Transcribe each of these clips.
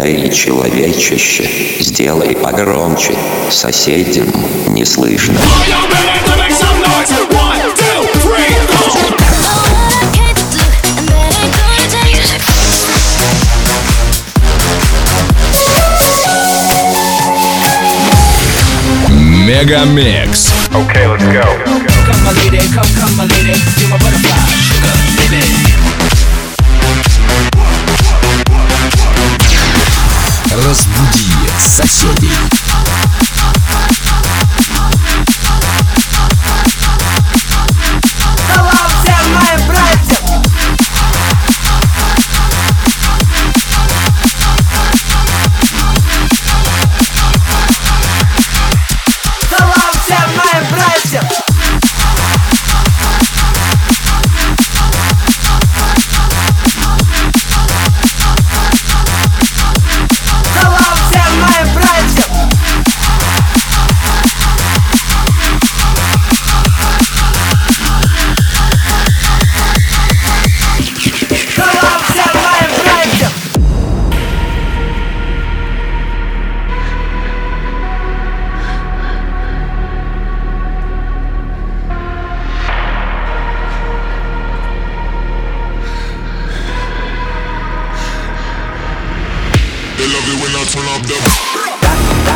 Эй, человечище, сделай погромче, соседям не слышно. Мегамикс. Okay, let's go. Come my lady, come my lady, you're my butterfly, sugar, baby. Разбуди соседей. Салам всем моим братьям! Салам всем моим братьям! Салам всем моим братьям! Салам всем моим братьям! They love it when I turn up the.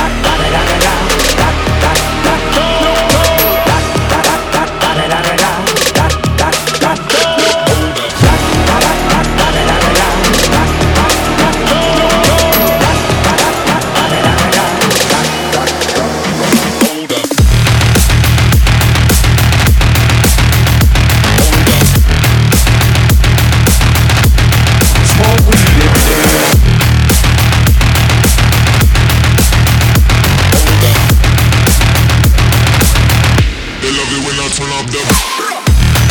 They love it when I turn up the.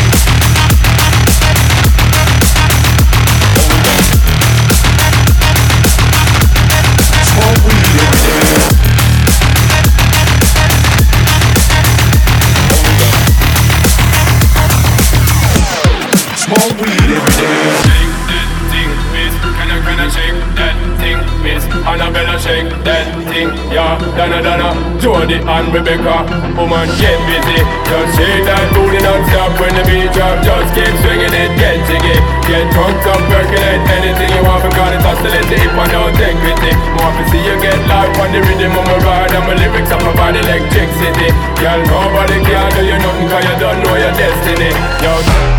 Smoke weed every day. Shake that thing, miss. Can I shake that thing, miss? Annabella shake that thing, yeah. Donna, Jody and Rebecca. Woman, get busy. Just shake that booty non-stop when the beat drop. Just keep swinging it, get jiggy. Get drunk up, percolate anything you want. Because it's oscillate the hip and don't take pity. More to see you get live on the rhythm of my ride. And my lyrics up about electricity. Girl, nobody can do you nothing cause you don't know your destiny. Yo.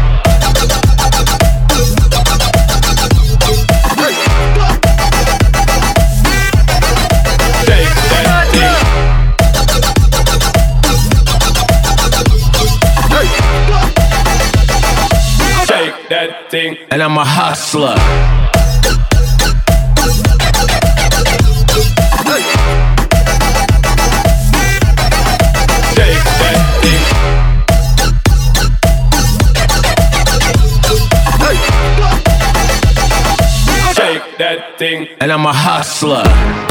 That thing, And I'm a hustler. shake that thing. Shake that thing. And I'm a hustler.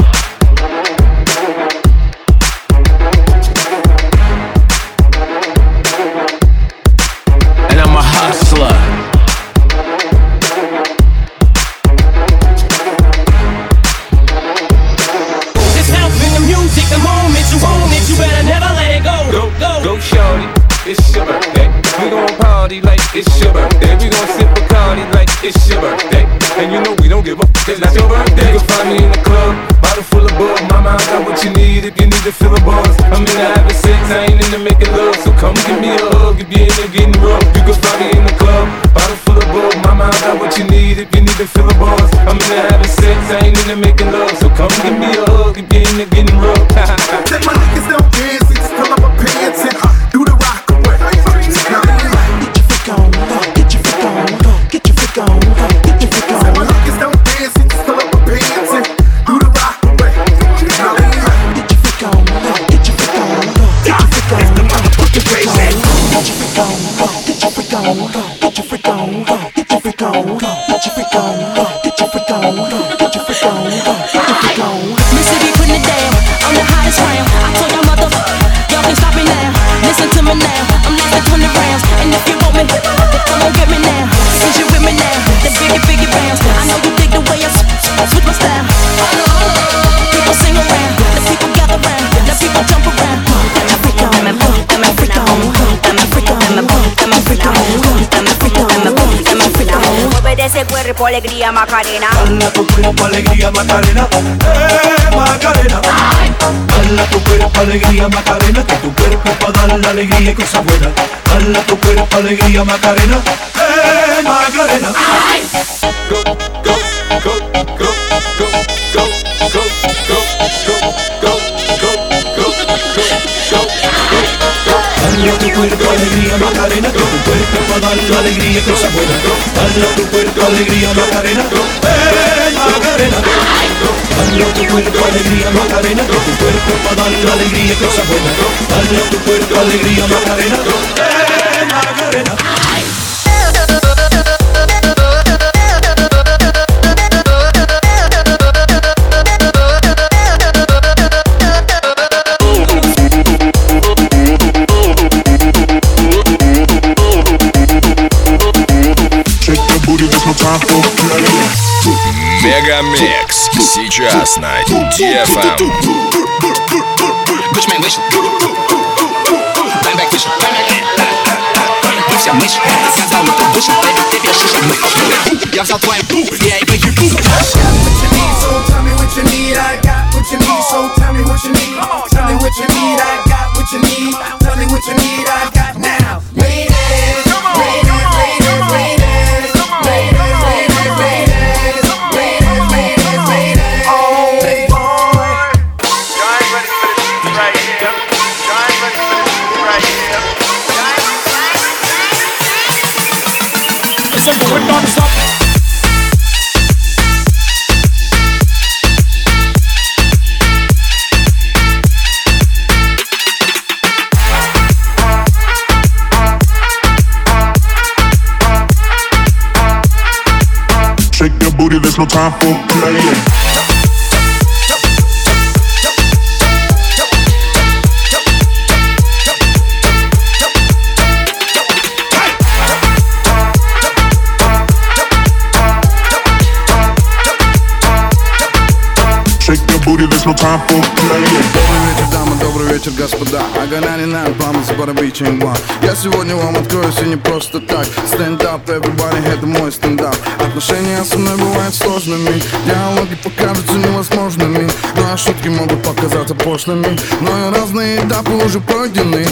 And I'm a hustler. Just helping the music, the moment you own it, you better never let it go. Go shorty, it's your birthday. We gon' party like it's your birthday. We gon' sip Bacardi like it's your birthday. And you know we don't give a f***, it's not your birthday. You can find me in the club, bottle full of bug. Mama, I got what you need if you need to fill a buzz. I'm into having sex, I ain't into making love. So come give me a hug if you're into getting rough. You can find me in the club, bottle full of bug. Mama, I got what you need if you need to fill a buzz. I'm into having sex, I ain't into making love. So come give me a hug if you're into getting rough. Let my niggas don't dance, just pull up my pants and do the rock away. Get your freak on, get your freak on, get your freak on, get your freak Let my on. niggas don't dance, just pull up my pants and do the rock away. Get your freak on, get your freak on, get your freak on, get your freak on, get your freak on, get your freak on, get your freak on, get your freak on, get your freak on, get your freak on, get your freak on, get your freak on. Mississippi putting it down, I'm the hottest round. I told y'all y'all can stop me now. Listen to me now, I'm lasting 20 rounds. And if you want me, then come on get me now. Since you with me now, then biggie bounce. I know you dig the way I switch my style. cuerpo alegría Macarena. Dala tu cuerpo alegría Macarena, Macarena. Dala tu cuerpo alegría Macarena, que tu cuerpo para dar la alegría y cosas buenas. Dala tu cuerpo alegría Macarena, Macarena. Go, go, go, go, go, go, go, go, go, go, go, go, go. Dala tu cuerpo alegría Macarena, que tu cuerpo para dar la alegría y cosas buenas. Dala tu cuerpo alegría Macarena, Macarena. Dala tu cuerpo alegría Macarena, que tu cuerpo para dar la alegría y cosas buenas. Dala tu cuerpo alegría Macarena, Macarena. Мегамикс сейчас на DFM. Я взял твою я и выйду. So tell me what you need, I got what you need. So tell me what you need. Tell me what you need, I got what you need. Tell me what you need, I got now. Ladies, ladies, ladies, ladies, ladies, ladies, ladies, ladies, ladies, ladies. Oh boy, Guys, ready for this right here. Guys, ready for this right here. Listen to it non-stop. Shake your booty, there's no time for playing. Shake your booty, there's no time for playing. Добрый вечер, дамы, добрый вечер, господа. I got 99 problems, but I'm reaching one. Я сегодня вам откроюсь и не просто так. Stand up, everybody, это мой стендап. Отношения со мной бывают сложными, диалоги покажутся невозможными, ну а шутки могут показаться пошлыми, но и разные этапы уже пройдены.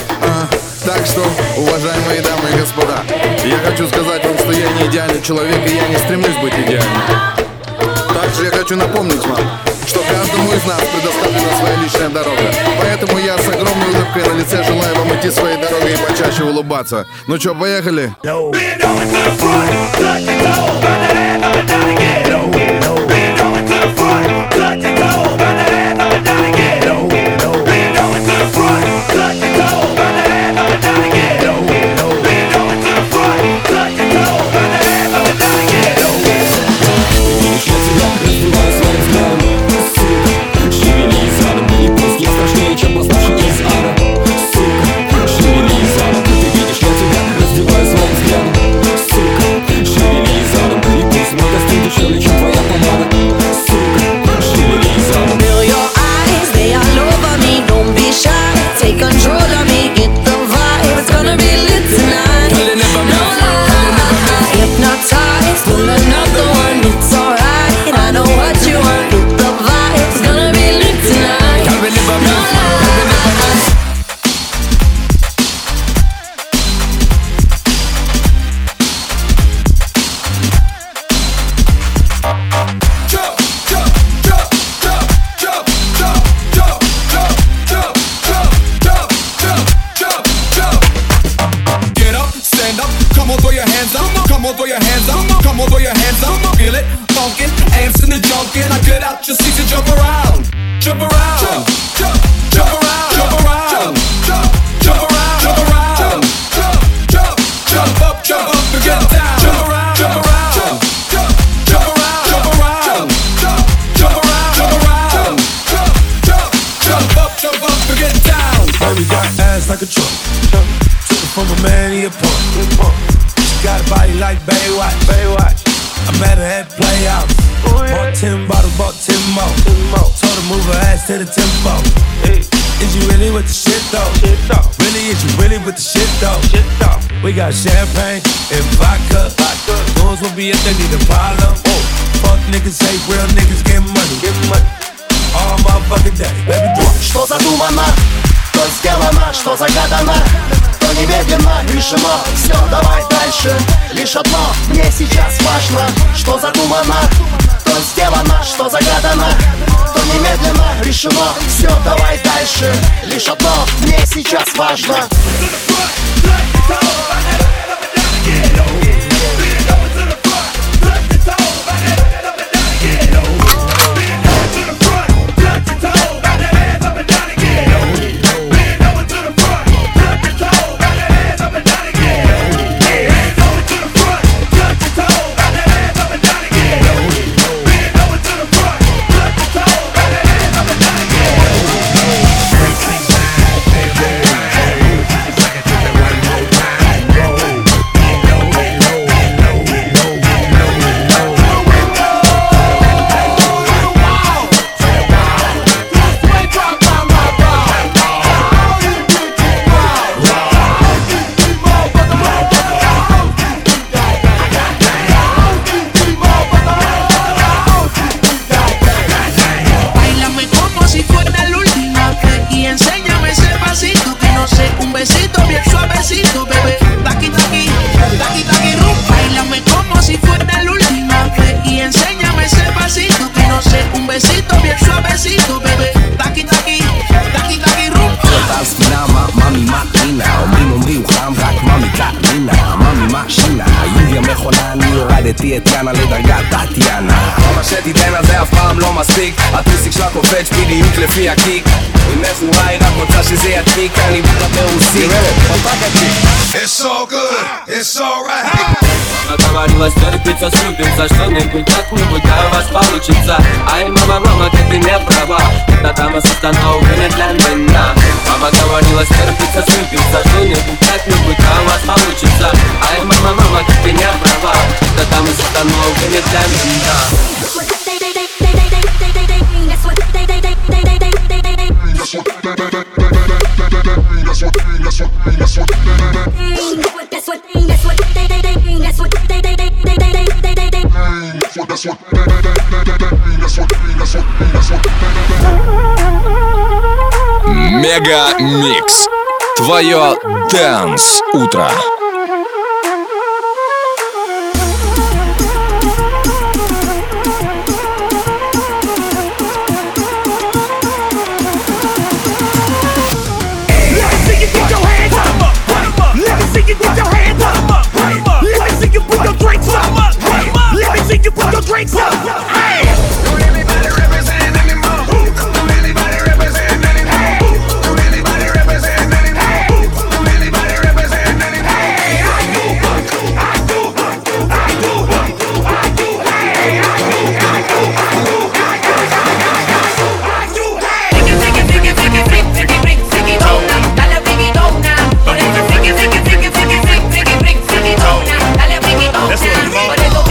Так что, уважаемые дамы и господа, я хочу сказать вам, что я не идеальный человек, и я не стремлюсь быть идеальным. Также я хочу напомнить вам, что каждому из нас предоставлена своя личная дорога. Поэтому я с огромной улыбкой на лице желаю вам идти своей дорогой и почаще улыбаться. Ну чё, поехали? Is you really with the shit though? Really, is you really with the shit though? We got champagne and vodka. Goons will be if they need a problem. Fuck niggas, hate real niggas, get money. All motherfucking day, baby boy. Что задумано, то сделано, что загадано, то немедленно решено. Все, давай дальше. Лишь одно мне сейчас важно. Что задумано, то сделано, что загадано, то немедленно решено. Все, давай дальше. Лишь одно мне сейчас важно. את יאנה לדרגת טטיאנה. מה שתיתן על זה אף פעם לא מספיק, הטוסיק שלה קופץ בדיוק לפי הקיק. אם מסורה היא רק רוצה שזה ידליק, אני בא ברוסית. It's so good, it's alright. Договорилась терпиться, срубиться, что-нибудь как-нибудь, а у вас получится. Ай, мама, как ты не права, эта дама установлена для меня. Мама говорила терпиться, срубиться, что-нибудь как-нибудь, а у вас получится. Ай, мама, как ты не права, эта дама установлена для меня. Мега Микс. Твое Dance утро. Drinks up. Hey! Don't anybody represent anymore. Don't anybody represent anymore. Don't anybody represent anymore. Don't anybody represent anymore. Hey, I do. Hey, I do. Hey, dale friquitona. Por eso friquitona. Dale friquitona. Por eso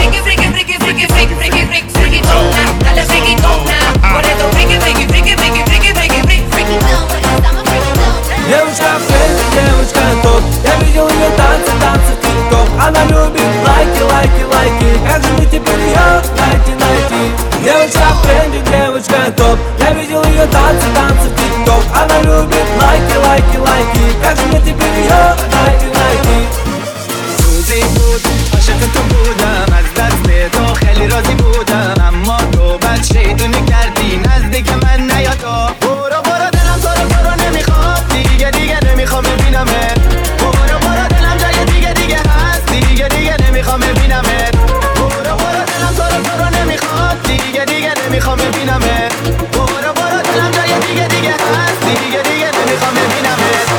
Девушка фэнси, девушка топ. Я видел ее танцы в тик-ток. Она любит лайки. Как же мне теперь ее найти? Девушка фэнси, девушка топ. Я видел ее танцы в тик-ток. Она любит лайки. Как же мне теперь ее найти? روزی بود عاشق تو بودم از دست تو خیلی راضی بودم اما تو بد شیطونی کردی نزدیک من نیا تو برو دلم تو رو نمیخواد دیگه نمیخوام ببینمت برو دلم جای دیگه هست دیگه نمیخوام ببینمت برو دلم تو رو نمیخواد دیگه نمیخوام ببینمت برو دلم جای دیگه هست دیگه نمیخوام ببینمت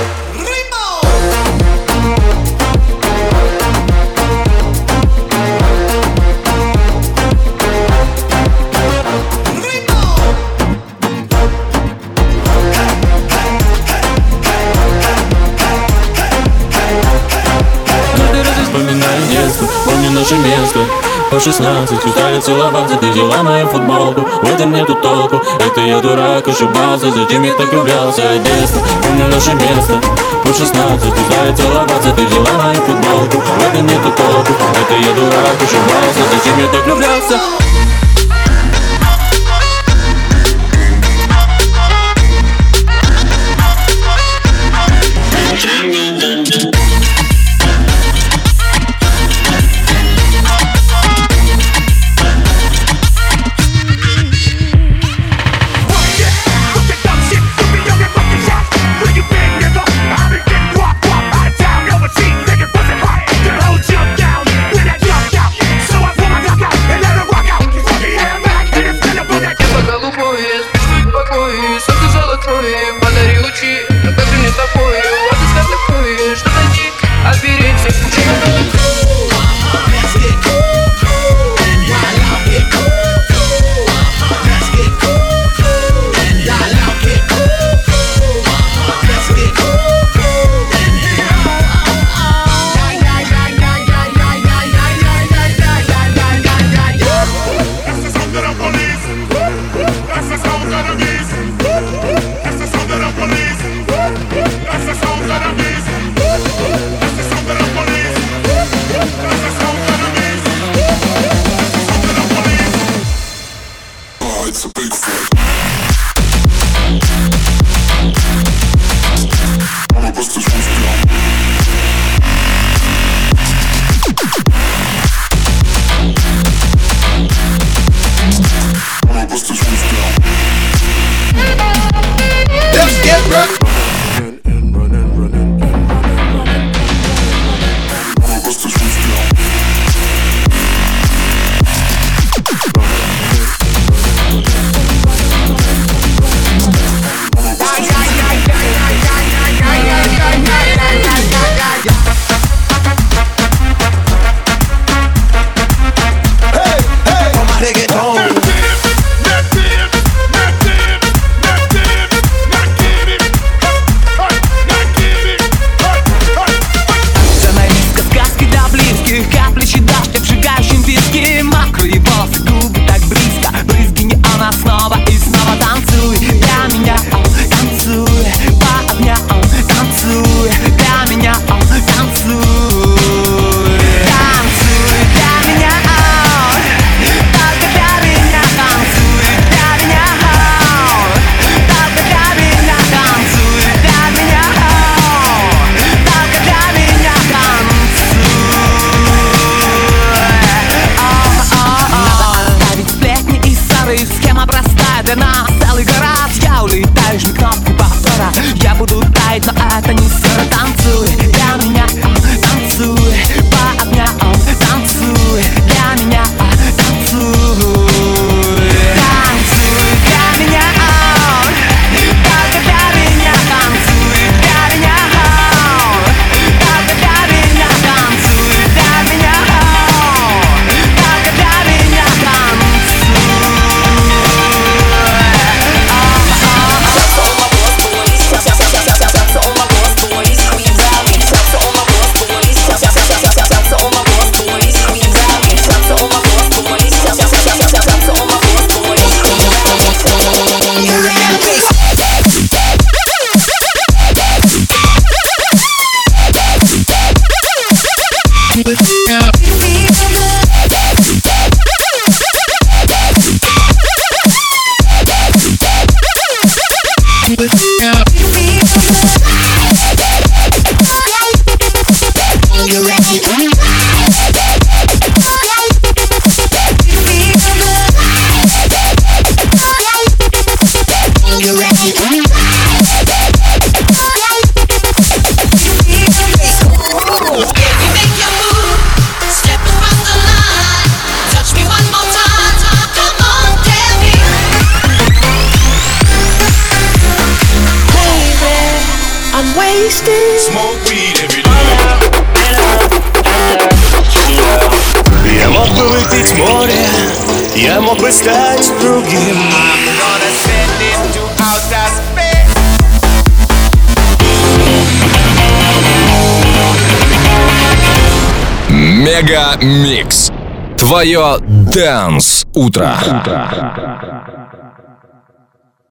Помню наше место, По 16 устали целоваться, ты взяла мою футболку. В этом нету толку, это я дурак, ошибался. Зачем я так влюблялся, детство, помню наше место. По 16 устали целоваться, ты взяла мою футболку. В этом нету толку, это я дурак, ошибался. Зачем я так влюблялся. Я мог бы выпить море, я мог бы стать другим. Мега Микс. Твое Dance утро.